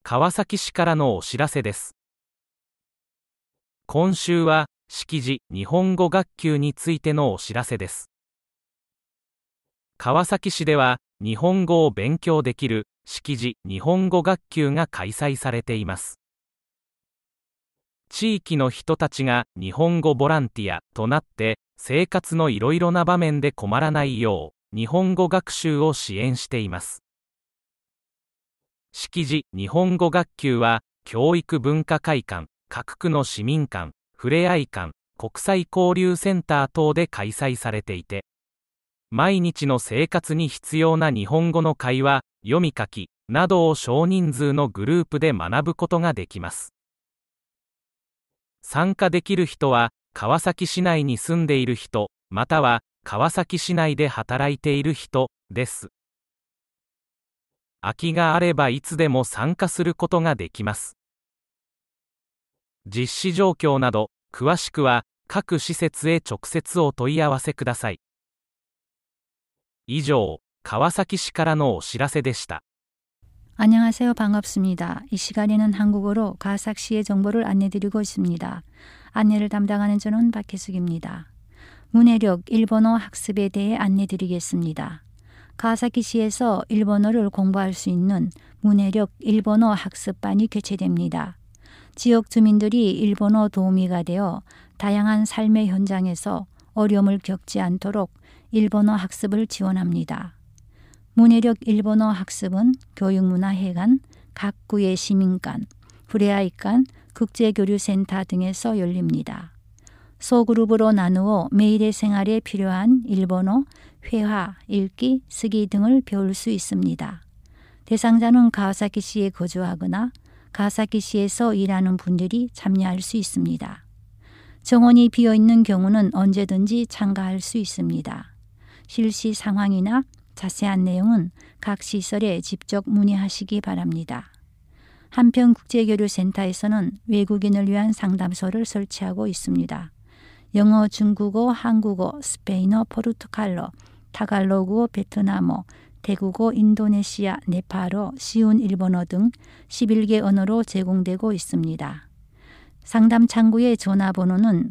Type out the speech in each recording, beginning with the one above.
川崎市からのお知らせです。今週は、識字日本語学級についてのお知らせです。川崎市では、日本語を勉強できる識字日本語学級が開催されています。地域の人たちが日本語ボランティアとなって、生活のいろいろな場面で困らないよう、日本語学習を支援しています。識字日本語学級は、教育文化会館、各区の市民館、ふれあい館、国際交流センター等で開催されていて、毎日の生活に必要な日本語の会話、読み書きなどを少人数のグループで学ぶことができます。参加できる人は、川崎市内に住んでいる人、または川崎市内で働いている人です。空きがあればいつでも参加することができます。実施状況など、詳しくは各施設へ直接お問い合わせください。以上、川崎市からのお知らせでした。 안녕하세요. 반갑습니다. 이 시간에는 한국어로 가삭시의 정보를 안내드리고 있습니다. 안내를 담당하는 저는 박혜숙입니다. 문해력 일본어 학습에 대해 안내드리겠습니다. 가와사키시에서 일본어를 공부할 수 있는 문해력 일본어 학습반이 개최됩니다. 지역 주민들이 일본어 도우미가 되어 다양한 삶의 현장에서 어려움을 겪지 않도록 일본어 학습을 지원합니다. 문해력 일본어 학습은 교육문화회관, 각 구의 시민관, 후레아이관, 국제교류센터 등에서 열립니다. 소그룹으로 나누어 매일의 생활에 필요한 일본어, 회화, 읽기, 쓰기 등을 배울 수 있습니다. 대상자는 가와사키시에 거주하거나 가와사키시에서 일하는 분들이 참여할 수 있습니다. 정원이 비어있는 경우는 언제든지 참가할 수 있습니다. 실시 상황이나 자세한 내용은 각 시설에 직접 문의하시기 바랍니다. 한편 국제교류센터에서는 외국인을 위한 상담소를 설치하고 있습니다. 영어, 중국어, 한국어, 스페인어, 포르투갈어, 타갈로그어, 베트남어, 대국어, 인도네시아, 네팔어, 쉬운 일본어 등 11개 언어로 제공되고 있습니다. 상담 창구의 전화번호는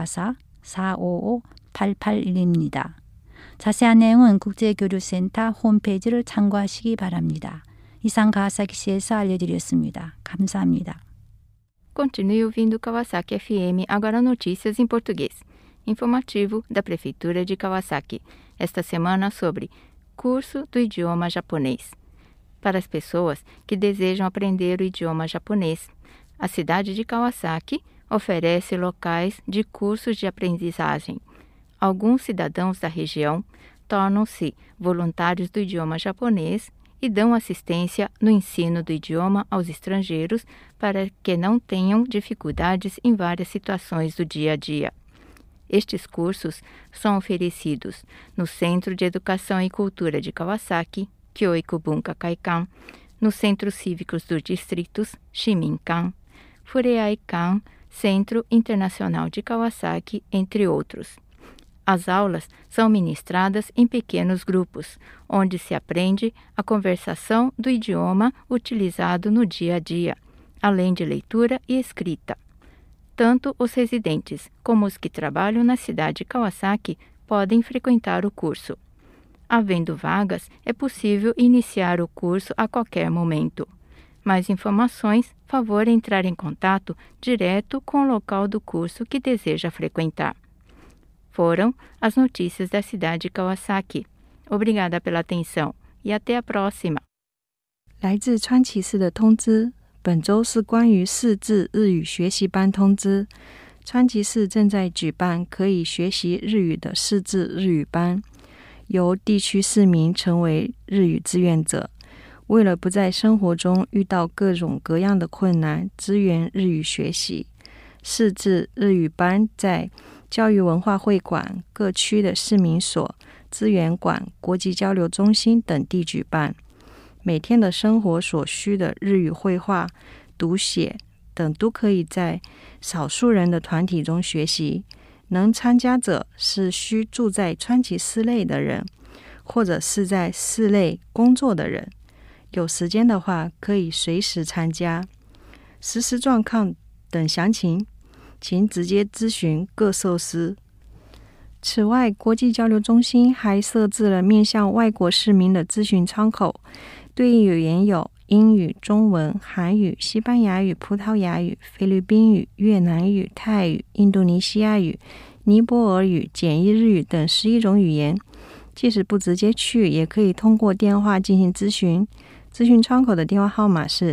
044-455-8811입니다. 자세한 내용은 국제교류센터 홈페이지를 참고하시기 바랍니다. 이상 가와사키시에서 알려드렸습니다. 감사합니다. Continue ouvindo Kawasaki FM, agora notícias em português. Informativo da Prefeitura de Kawasaki. Esta semana sobre curso do idioma japonês. Para as pessoas que desejam aprender o idioma japonês, a cidade de Kawasaki oferece locais de cursos de aprendizagem. Alguns cidadãos da região tornam-se voluntários do idioma japonês e dão assistência no ensino do idioma aos estrangeiros para que não tenham dificuldades em várias situações do dia a dia. Estes cursos são oferecidos no Centro de Educação e Cultura de Kawasaki, Kyoiku Bunka Kaikan, nos Centros Cívicos dos Distritos, Shiminkan, Fureaikan, Centro Internacional de Kawasaki, entre outros. As aulas são ministradas em pequenos grupos, onde se aprende a conversação do idioma utilizado no dia a dia, além de leitura e escrita. Tanto os residentes como os que trabalham na cidade de Kawasaki podem frequentar o curso. Havendo vagas, é possível iniciar o curso a qualquer momento. Mais informações, favor entrar em contato direto com o local do curso que deseja frequentar. Foram as notícias da cidade de Kawasaki. Obrigada pela atenção e até a próxima. 来自川崎市的通知，本周是关于识字日语学习班通知。川崎市正在举办可以学习日语的识字日语班，由地区市民成为日语志愿者。为了不在生活中遇到各种各样的困难，支援日语学习，识字日语班在教育文化会馆、各区的市民所、资源馆、国际交流中心等地举办。每天的生活所需的日语绘画、读写等都可以在少数人的团体中学习。能参加者是需住在川崎市内的人，或者是在市内工作的人。 有时间的话可以随时参加。实施状况等详情，请直接咨询各设施。此外，国际交流中心还设置了面向外国市民的咨询窗口，对应语言有英语、中文、韩语、西班牙语、葡萄牙语、菲律宾语、越南语、泰语、印度尼西亚语、尼泊尔语、简易日语等11种语言。即使不直接去，也可以通过电话进行咨询。咨询窗口的电话号码是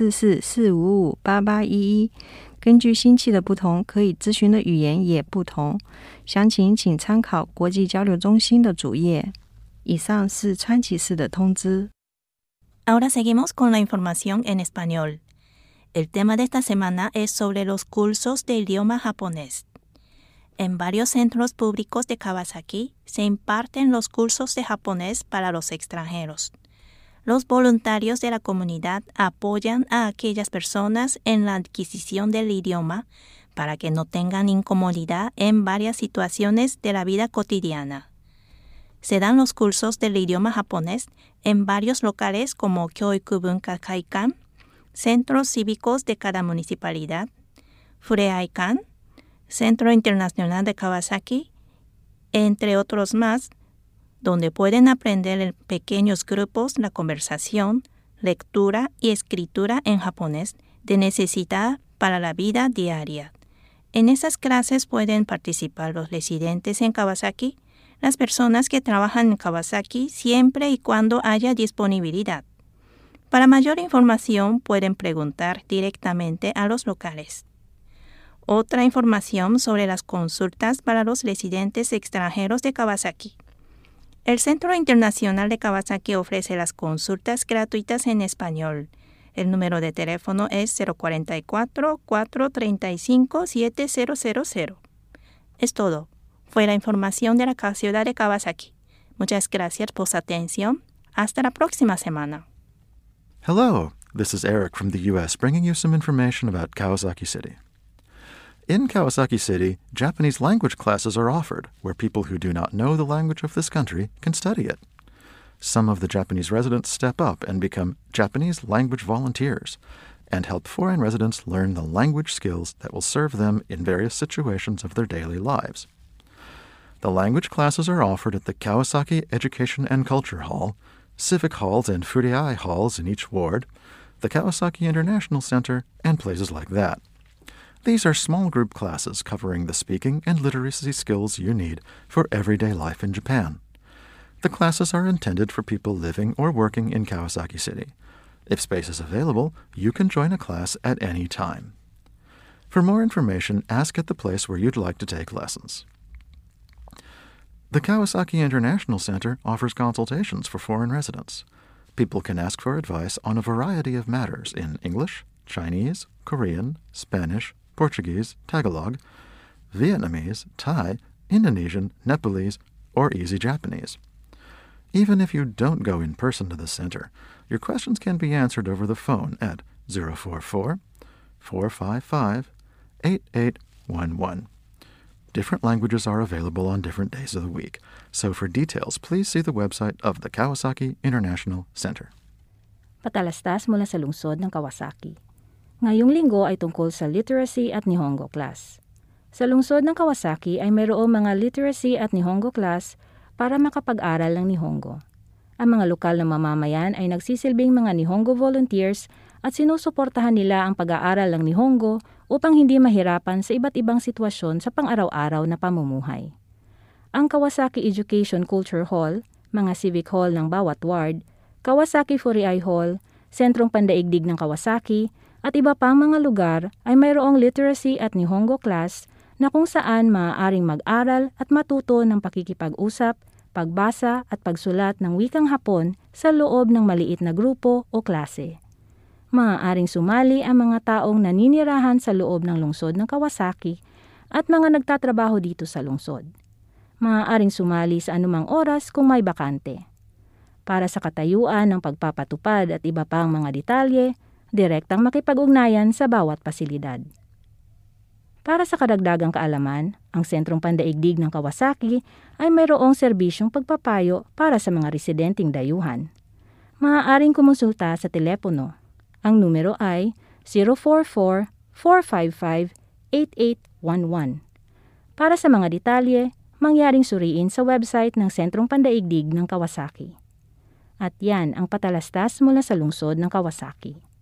044-455-8811。根据星期的不同，可以咨询的语言也不同。详情请参考国际交流中心的主页。以上是川崎市的通知。 Ahora seguimos con la información en español. El tema de esta semana es sobre los cursos de idioma japonés. En varios centros públicos de Kawasaki se imparten los cursos de japonés para los extranjeros. Los voluntarios de la comunidad apoyan a aquellas personas en la adquisición del idioma para que no tengan incomodidad en varias situaciones de la vida cotidiana. Se dan los cursos del idioma japonés en varios locales como Kyoiku Bunka Kaikan, centros cívicos de cada municipalidad, Fureaikan, Centro Internacional de Kawasaki, entre otros más, donde pueden aprender en pequeños grupos la conversación, lectura y escritura en japonés de necesidad para la vida diaria. En esas clases pueden participar los residentes en Kawasaki, las personas que trabajan en Kawasaki siempre y cuando haya disponibilidad. Para mayor información pueden preguntar directamente a los locales. Otra información sobre las consultas para los residentes extranjeros de Kawasaki. El Centro Internacional de Kawasaki ofrece las consultas gratuitas en español. El número de teléfono es 044-435-7000. Es todo. Fue la información de la ciudad de Kawasaki. Muchas gracias por su atención. Hasta la próxima semana. Hello, this is Eric from the U.S. bringing you some information about Kawasaki City. In Kawasaki City, Japanese language classes are offered, where people who do not know the language of this country can study it. Some of the Japanese residents step up and become Japanese language volunteers and help foreign residents learn the language skills that will serve them in various situations of their daily lives. The language classes are offered at the Kawasaki Education and Culture Hall, civic halls and Furiai halls in each ward, the Kawasaki International Center, and places like that. These are small group classes covering the speaking and literacy skills you need for everyday life in Japan. The classes are intended for people living or working in Kawasaki City. If space is available, you can join a class at any time. For more information, ask at the place where you'd like to take lessons. The Kawasaki International Center offers consultations for foreign residents. People can ask for advice on a variety of matters in English, Chinese, Korean, Spanish, Portuguese, Tagalog, Vietnamese, Thai, Indonesian, Nepalese, or Easy Japanese. Even if you don't go in person to the center, your questions can be answered over the phone at 044-455-8811. Different languages are available on different days of the week, so for details, please see the website of the Kawasaki International Center. Patalastas mula sa lungsod ng Kawasaki. Ngayong linggo ay tungkol sa literacy at Nihongo class. Sa lungsod ng Kawasaki ay mayroong mga literacy at Nihongo class para makapag-aral ng Nihongo. Ang mga lokal na mamamayan ay nagsisilbing mga Nihongo volunteers at sinusuportahan nila ang pag-aaral ng Nihongo upang hindi mahirapan sa iba't ibang sitwasyon sa pang-araw-araw na pamumuhay. Ang Kawasaki Education Culture Hall, mga civic hall ng bawat ward, Kawasaki Furiai Hall, Sentrong Pandaigdig ng Kawasaki, at iba pang mga lugar ay mayroong literacy at Nihongo class na kung saan maaaring mag-aral at matuto ng pakikipag-usap, pagbasa at pagsulat ng wikang Hapon sa loob ng maliit na grupo o klase. Maaaring sumali ang mga taong naninirahan sa loob ng lungsod ng Kawasaki at mga nagtatrabaho dito sa lungsod. Maaaring sumali sa anumang oras kung may bakante. Para sa katayuan ng pagpapatupad at iba pang mga detalye, direktang makipag-ugnayan sa bawat pasilidad. Para sa karagdagang kaalaman, ang Sentrong Pandaigdig ng Kawasaki ay mayroong serbisyong pagpapayo para sa mga residenteng dayuhan. maaaring kumonsulta sa telepono. Ang numero ay 044-455-8811. Para sa mga detalye, mangyaring suriin sa website ng Sentrong Pandaigdig ng Kawasaki. At yan ang patalastas mula sa lungsod ng Kawasaki.